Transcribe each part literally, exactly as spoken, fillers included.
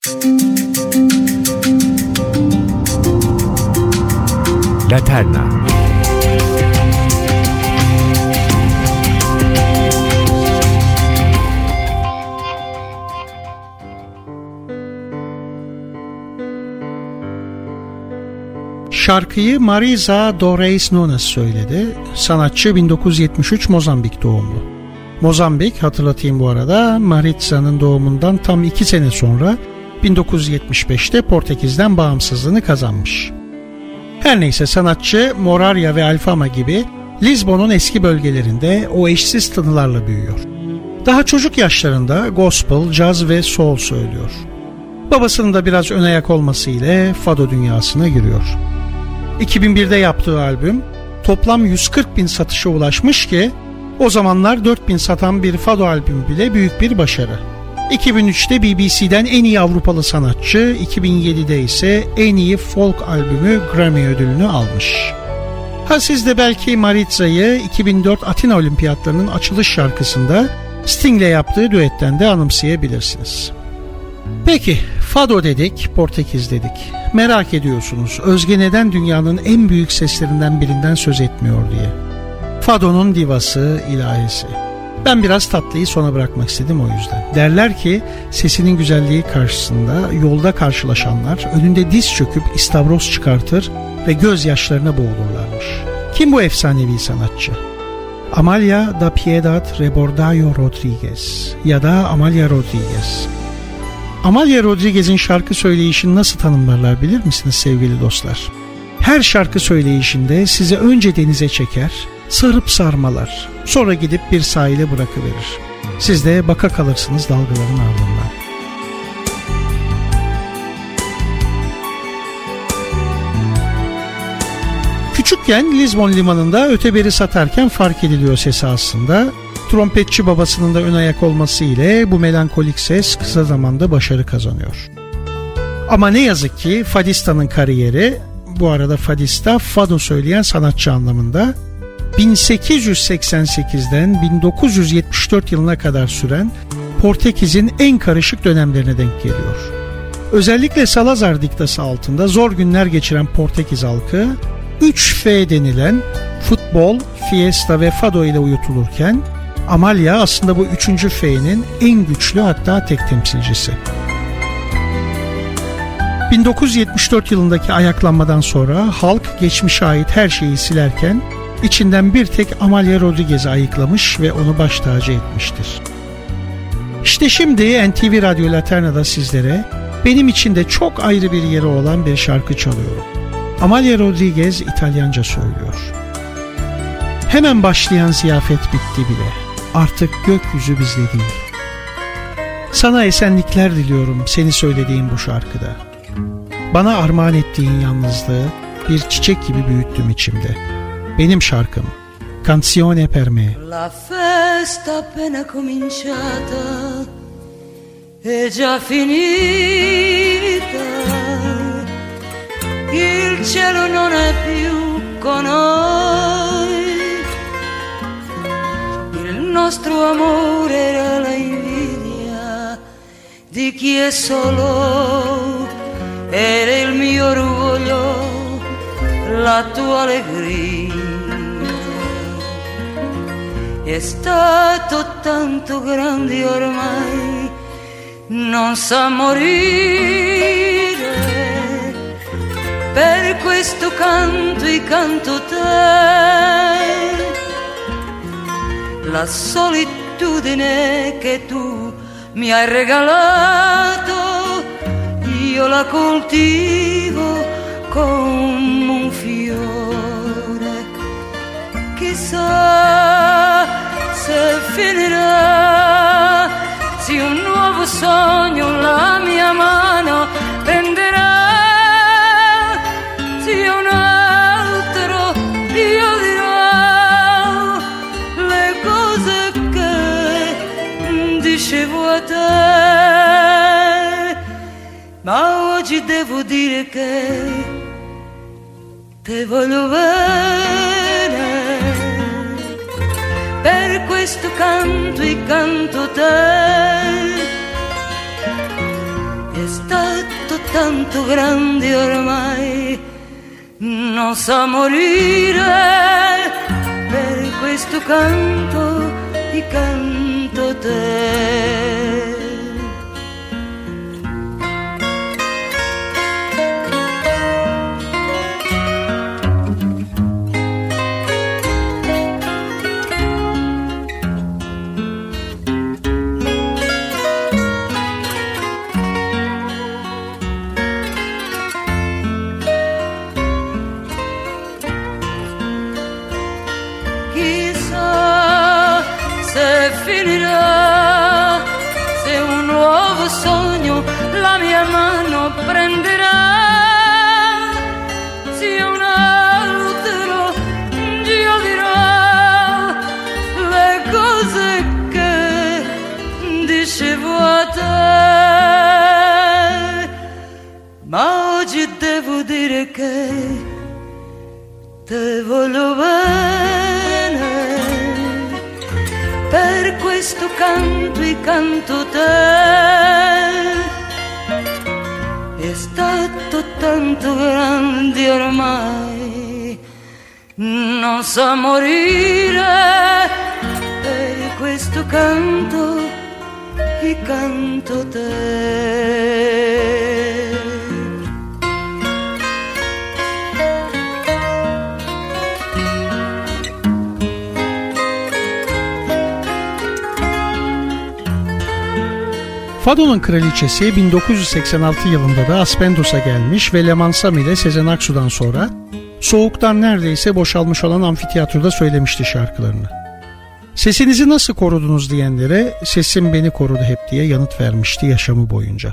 Laterna. Şarkıyı Marisa do Reis Nunes söyledi. Sanatçı bin dokuz yüz yetmiş üç Mozambik doğumlu. Mozambik, hatırlatayım bu arada, Marisa'nın doğumundan tam iki sene sonra bin dokuz yüz yetmiş beşte Portekiz'den bağımsızlığını kazanmış. Her neyse, sanatçı Moraria ve Alfama gibi Lizbon'un eski bölgelerinde o eşsiz tınılarla büyüyor. Daha çocuk yaşlarında gospel, caz ve soul söylüyor. Babasının da biraz ön ayak olması ile fado dünyasına giriyor. iki bin birde yaptığı albüm toplam yüz kırk bin satışa ulaşmış ki o zamanlar dört bin satan bir fado albümü bile büyük bir başarı. iki bin üçte B B C'den en iyi Avrupalı sanatçı, iki bin yedide ise en iyi folk albümü Grammy ödülünü almış. Ha siz de belki Mariza'yı iki bin dört Atina Olimpiyatlarının açılış şarkısında Sting'le yaptığı düetten de anımsayabilirsiniz. Peki, fado dedik, Portekiz dedik. Merak ediyorsunuz, Özge neden dünyanın en büyük seslerinden birinden söz etmiyor diye. Fado'nun divası, ilahisi. Ben biraz tatlıyı sona bırakmak istedim o yüzden. Derler ki sesinin güzelliği karşısında yolda karşılaşanlar önünde diz çöküp istavroz çıkartır ve gözyaşlarına boğulurlarmış. Kim bu efsanevi sanatçı? Amalia da Piedad Rebordayo Rodriguez ya da Amalia Rodriguez. Amalia Rodriguez'in şarkı söyleyişini nasıl tanımlarlar bilir misiniz sevgili dostlar? Her şarkı söyleyişinde sizi önce denize çeker, sarıp sarmalar, sonra gidip bir sahile bırakıverir. Siz de baka kalırsınız dalgaların ardından. Küçükken Lizbon limanında öteberi satarken fark ediliyor sesi aslında. Trompetçi babasının da ön ayak olması ile bu melankolik ses kısa zamanda başarı kazanıyor. Ama ne yazık ki Fadista'nın kariyeri, bu arada Fadista fado söyleyen sanatçı anlamında, bin sekiz yüz seksen sekizden bin dokuz yüz yetmiş dört yılına kadar süren Portekiz'in en karışık dönemlerine denk geliyor. Özellikle Salazar diktası altında zor günler geçiren Portekiz halkı üç F denilen futbol, fiesta ve fado ile uyutulurken Amalia aslında bu üçüncü F'nin en güçlü, hatta tek temsilcisi. bin dokuz yüz yetmiş dört yılındaki ayaklanmadan sonra halk geçmişe ait her şeyi silerken içinden bir tek Amalia Rodriguez'i ayıklamış ve onu baş tacı etmiştir. İşte şimdi N T V Radyo Laterna'da sizlere benim için de çok ayrı bir yeri olan bir şarkı çalıyorum. Amalia Rodriguez İtalyanca söylüyor. Hemen başlayan ziyafet bitti bile. Artık gökyüzü bizde değil. Sana esenlikler diliyorum seni söylediğim bu şarkıda. Bana armağan ettiğin yalnızlığı bir çiçek gibi büyüttüm içimde. Benim şarkım Canzone per me. La festa appena cominciata è già finita. Il cielo non è più con noi. Il nostro amore era la invidia di chi è solo. Era il mio orgoglio, la tua allegria. È stato tanto grande ormai, non sa morire. Per questo canto e canto te, la solitudine che tu mi hai regalato, io la coltivo come un fiore. Chissà se finirà, se un nuovo sogno la mia mano prenderà. Un altro io dirò le cose che dicevo a te, ma oggi devo dire che te voglio bene. Per questo canto e canto te. stato tanto grande ormai, non sa morire, per questo canto ti canto te. Finirà, se un nuovo sogno la mia mano prenderà, se un altro Dio dirà le cose che dicevo a te, ma oggi devo dire che te voglio bene, per questo canto e canto te. È stato tanto grande ormai, non sa morire, per questo canto e canto te. Fado'nun kraliçesi bin dokuz yüz seksen altı yılında da Aspendos'a gelmiş ve Lemansam ile Sezen Aksu'dan sonra soğuktan neredeyse boşalmış olan amfiteyatroda söylemişti şarkılarını. Sesinizi nasıl korudunuz diyenlere sesim beni korudu hep diye yanıt vermişti yaşamı boyunca.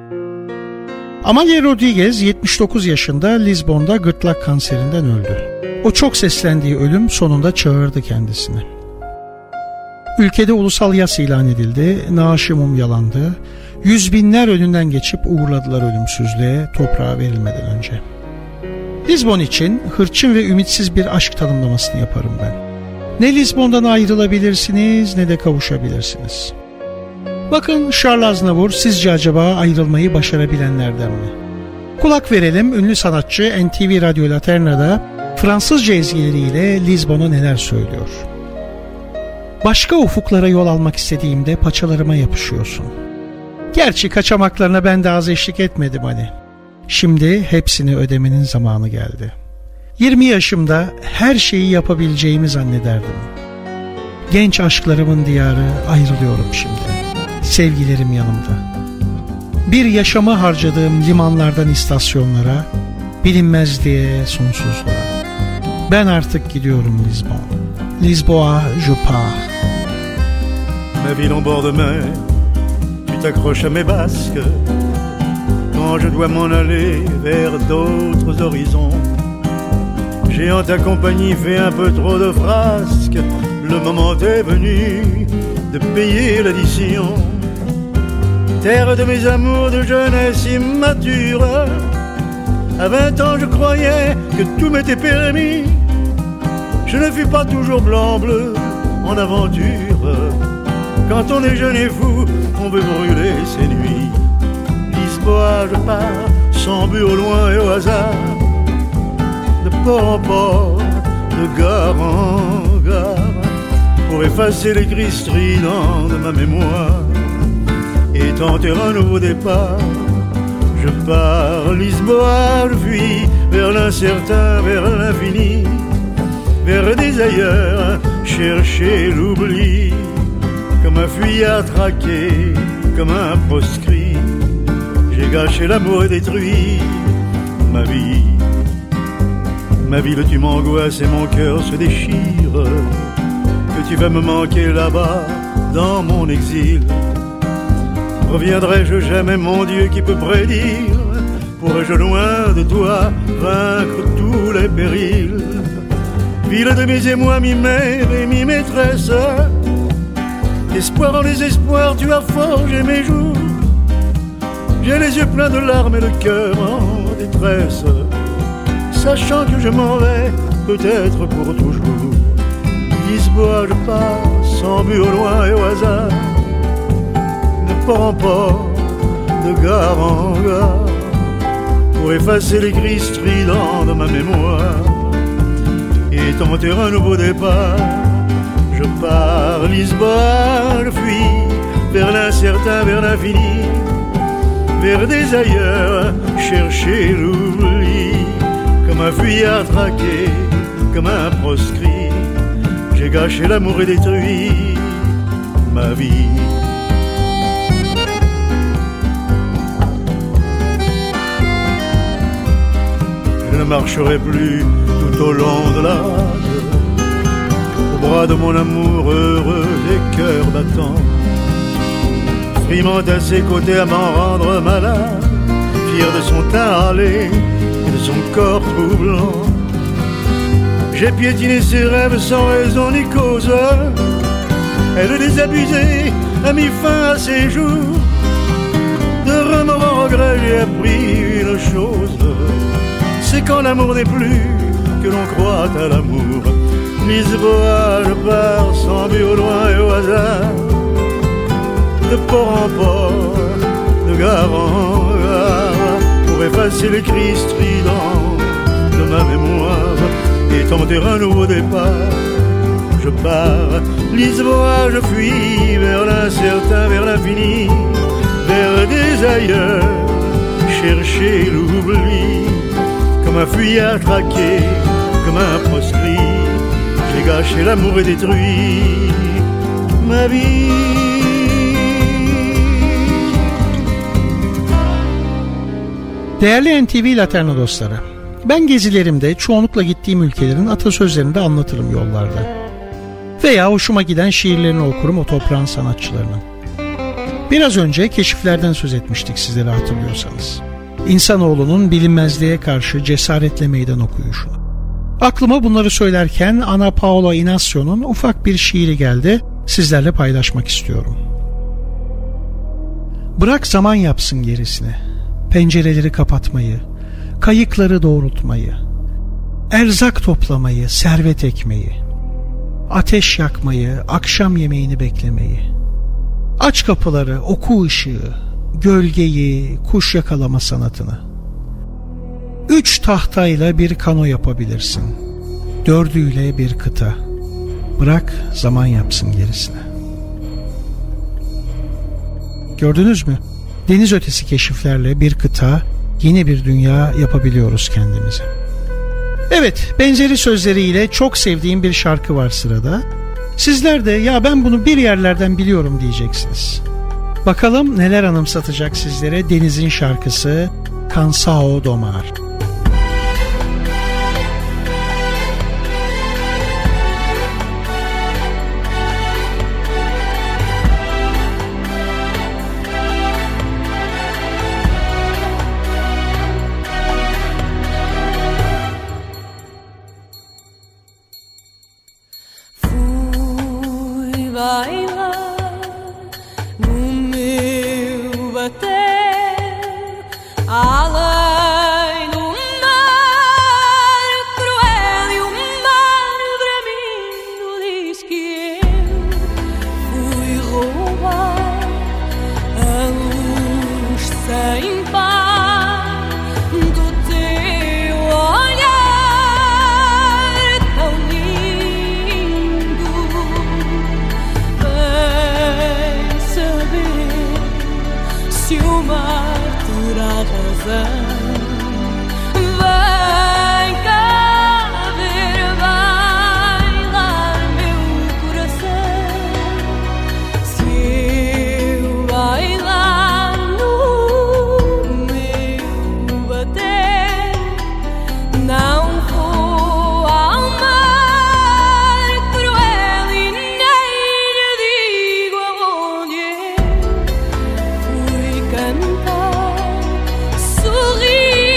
Amalia Rodriguez yetmiş dokuz yaşında Lizbon'da gırtlak kanserinden öldü. O çok seslendiği ölüm sonunda çağırdı kendisini. Ülkede ulusal yas ilan edildi, naaşı mumyalandı, yüz binler önünden geçip uğurladılar ölümsüzlüğe, toprağa verilmeden önce. Lizbon için hırçın ve ümitsiz bir aşk tanımlamasını yaparım ben. Ne Lizbon'dan ayrılabilirsiniz ne de kavuşabilirsiniz. Bakın Charles Aznavour sizce acaba ayrılmayı başarabilenlerden mi? Kulak verelim, ünlü sanatçı N T V Radyo Laterna'da Fransızca ezgileriyle Lizbon'a neler söylüyor. Başka ufuklara yol almak istediğimde paçalarıma yapışıyorsun. Gerçi kaçamaklarına ben de az eşlik etmedim hani. Şimdi hepsini ödemenin zamanı geldi. yirmi yaşımda her şeyi yapabileceğimi zannederdim. Genç aşklarımın diyarı, ayrılıyorum şimdi. Sevgilerim yanımda. Bir yaşamı harcadığım limanlardan istasyonlara, bilinmezliğe, sonsuzluğa. Ben artık gidiyorum Lizbon. Lisboa, je pars. Ma ville en bord de mer, tu t'accroches à mes basques. Quand je dois m'en aller vers d'autres horizons, j'ai en ta compagnie fait un peu trop de frasques. Le moment est venu de payer l'addition. Terre de mes amours de jeunesse immature, à vingt ans je croyais que tout m'était permis. Je ne fus pas toujours blanc-bleu en aventure. Quand on est jeune et fou, on veut brûler ses nuits. Lisboa, je pars, sans but au loin et au hasard, de port en port, de gare en gare, pour effacer les cris stridents de ma mémoire et tenter un nouveau départ. Je pars, Lisboa, je fuis vers l'incertain, vers l'infini, vers des ailleurs, chercher l'oubli, comme un fuyard traqué, comme un proscrit. J'ai gâché l'amour et détruit ma vie. Ma ville, tu m'angoisses et mon cœur se déchire. Que tu vas me manquer là-bas, dans mon exil. Reviendrai-je jamais, mon Dieu, qui peut prédire? Pourrais-je loin de toi vaincre tous les périls? Ville de mes émois, mi-mère et mi-maîtresse, espoir en désespoir, tu as forgé mes jours. J'ai les yeux pleins de larmes et le cœur en détresse, sachant que je m'en vais peut-être pour toujours. Lisboa, je pars sans but au loin et au hasard, de port en port, de de gare en gare, pour effacer les cris stridents de ma mémoire et tenter un nouveau départ. Je pars Lisbonne, je fuis vers l'incertain, vers l'infini, vers des ailleurs, chercher l'oubli. Comme un fuyard traqué, comme un proscrit, j'ai gâché l'amour et détruit ma vie. Je ne marcherai plus tout au long de la rade, au bras de mon amour heureux et cœur battant, frimant à ses côtés à m'en rendre malade, fier de son teint râlé et de son corps troublant. J'ai piétiné ses rêves sans raison ni cause, elle désabusée a mis fin à ses jours. De remords en regret j'ai appris une chose, c'est quand l'amour n'est plus que l'on croit à l'amour. Lisboa, je pars sans but au loin et au hasard, de port en port, de gare en gare, pour effacer les cris stridents de ma mémoire et tenter un nouveau départ. Je pars, Lisboa, je fuis vers l'incertain, vers l'infini, vers des ailleurs, chercher l'oubli. Comme un fuyard traqué, comme un proscrit, j'ai gâché l'amour et détruit ma vie. Değerli N T V Laterno dostları, ben gezilerimde çoğunlukla gittiğim ülkelerin atasözlerini de anlatırım yollarda. Veya hoşuma giden şiirlerini okurum o toprağın sanatçılarının. Biraz önce keşiflerden söz etmiştik sizlere, hatırlıyorsanız. İnsanoğlunun bilinmezliğe karşı cesaretle meydan okuyuşunu. Aklıma bunları söylerken Ana Paula Inacio'nun ufak bir şiiri geldi, sizlerle paylaşmak istiyorum. Bırak zaman yapsın gerisini, pencereleri kapatmayı, kayıkları doğrultmayı, erzak toplamayı, servet ekmeyi, ateş yakmayı, akşam yemeğini beklemeyi. Aç kapıları, oku ışığı, gölgeyi, kuş yakalama sanatını. Üç tahtayla bir kano yapabilirsin, dördüyle bir kıta. Bırak zaman yapsın gerisini. Gördünüz mü? Deniz ötesi keşiflerle bir kıta, yeni bir dünya yapabiliyoruz kendimize. Evet, benzeri sözleriyle çok sevdiğim bir şarkı var sırada. Sizler de ya ben bunu bir yerlerden biliyorum diyeceksiniz. Bakalım neler anımsatacak sizlere Deniz'in şarkısı Cansao do Mar. Sorrir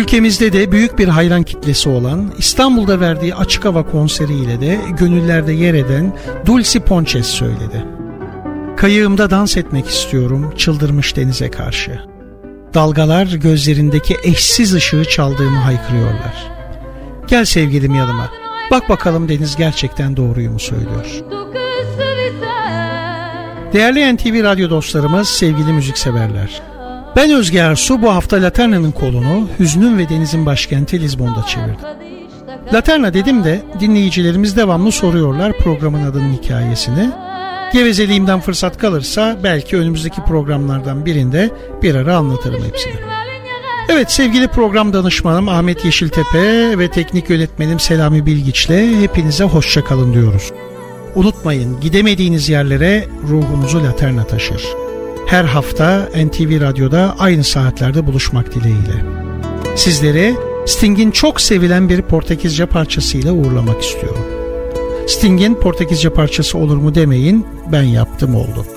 Ülkemizde de büyük bir hayran kitlesi olan, İstanbul'da verdiği açık hava konseriyle de gönüllerde yer eden Dulcie Ponces söyledi. Kayığımda dans etmek istiyorum çıldırmış denize karşı. Dalgalar gözlerindeki eşsiz ışığı çaldığımı haykırıyorlar. Gel sevgilim yanıma, bak bakalım deniz gerçekten doğruyu mu söylüyor? Değerli N T V Radyo dostlarımız, sevgili müzikseverler. Ben Özge Ersu bu hafta Laterna'nın kolunu hüznün ve denizin başkenti Lizbon'da çevirdim. Laterna dedim de dinleyicilerimiz devamlı soruyorlar programın adının hikayesini. Gevezeliğimden fırsat kalırsa belki önümüzdeki programlardan birinde bir ara anlatırım hepsini. Evet, sevgili program danışmanım Ahmet Yeşiltepe ve teknik yönetmenim Selami Bilgiç'le hepinize hoşça kalın diyoruz. Unutmayın, gidemediğiniz yerlere ruhunuzu Laterna taşır. Her hafta N T V Radyo'da aynı saatlerde buluşmak dileğiyle. Sizleri Sting'in çok sevilen bir Portekizce parçasıyla uğurlamak istiyorum. Sting'in Portekizce parçası olur mu demeyin, ben yaptım oldu.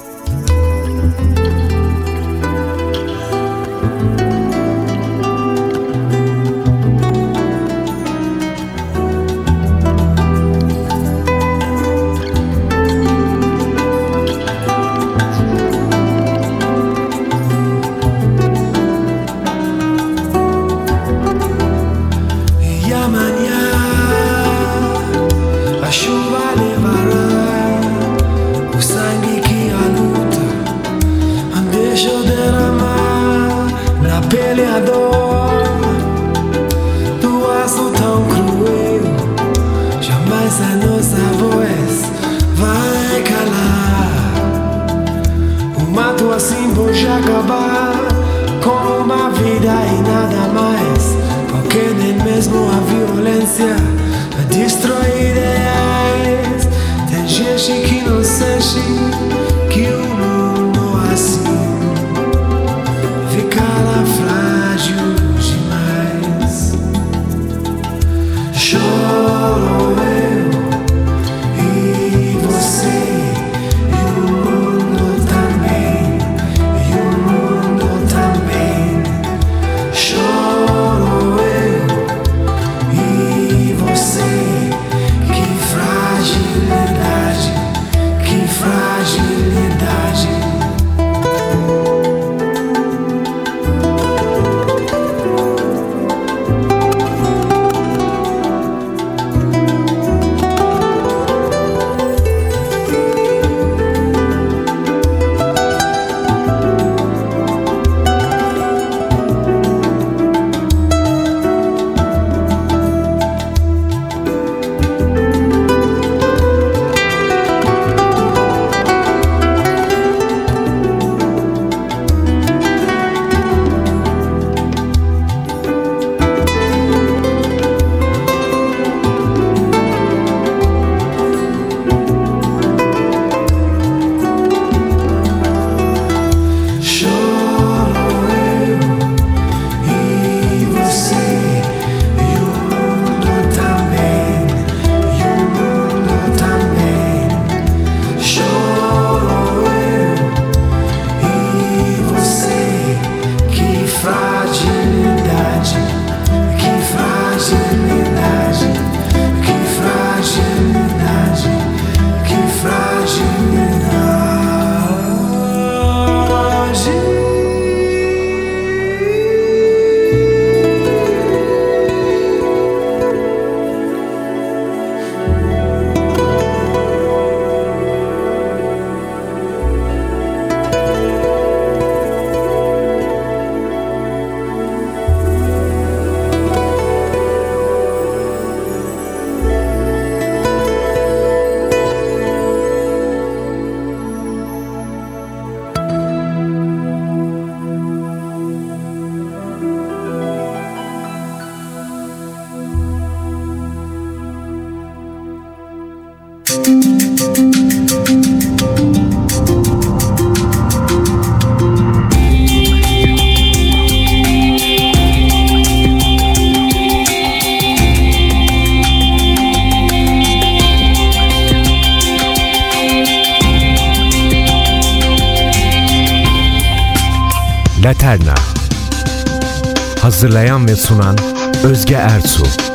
Laterna. Hazırlayan ve sunan Özge Ertuğ.